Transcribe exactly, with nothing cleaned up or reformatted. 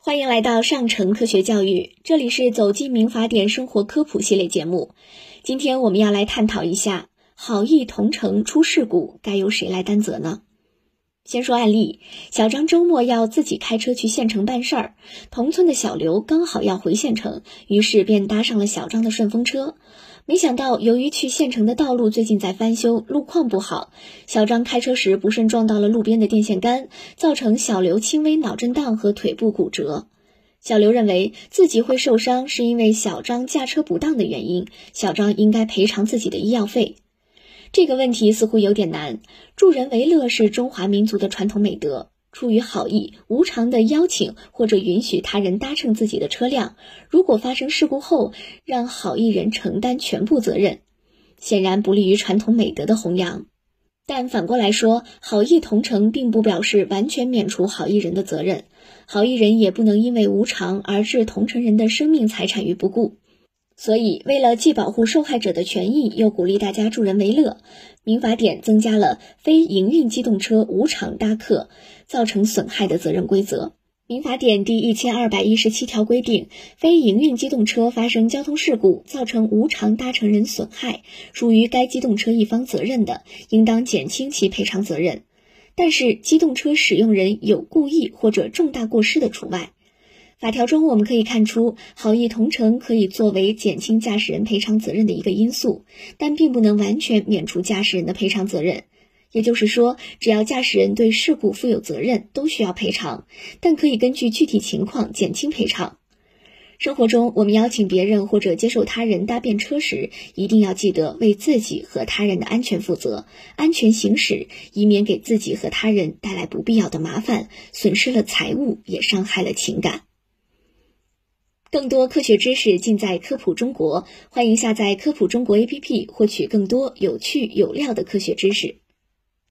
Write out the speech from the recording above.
欢迎来到上城科学教育，这里是走进民法典生活科普系列节目。今天我们要来探讨一下，好意同乘出事故该由谁来担责呢？先说案例，小张周末要自己开车去县城办事儿，同村的小刘刚好要回县城，于是便搭上了小张的顺风车。没想到由于去县城的道路最近在翻修，路况不好，小张开车时不慎撞到了路边的电线杆，造成小刘轻微脑震荡和腿部骨折。小刘认为自己会受伤是因为小张驾车不当的原因，小张应该赔偿自己的医药费。这个问题似乎有点难，助人为乐是中华民族的传统美德，出于好意，无偿的邀请或者允许他人搭乘自己的车辆，如果发生事故后，让好意人承担全部责任，显然不利于传统美德的弘扬。但反过来说，好意同乘并不表示完全免除好意人的责任，好意人也不能因为无偿而置同乘人的生命财产于不顾。所以为了既保护受害者的权益，又鼓励大家助人为乐，民法典增加了非营运机动车无偿搭客造成损害的责任规则。民法典第一千二百一十七条规定，非营运机动车发生交通事故，造成无偿搭乘人损害，属于该机动车一方责任的，应当减轻其赔偿责任。但是机动车使用人有故意或者重大过失的除外。法条中我们可以看出，好意同乘可以作为减轻驾驶人赔偿责任的一个因素，但并不能完全免除驾驶人的赔偿责任。也就是说，只要驾驶人对事故负有责任，都需要赔偿，但可以根据具体情况减轻赔偿。生活中，我们邀请别人或者接受他人搭便车时，一定要记得为自己和他人的安全负责，安全行驶，以免给自己和他人带来不必要的麻烦，损失了财物，也伤害了情感。更多科学知识尽在科普中国，欢迎下载科普中国 A P P 获取更多有趣有料的科学知识。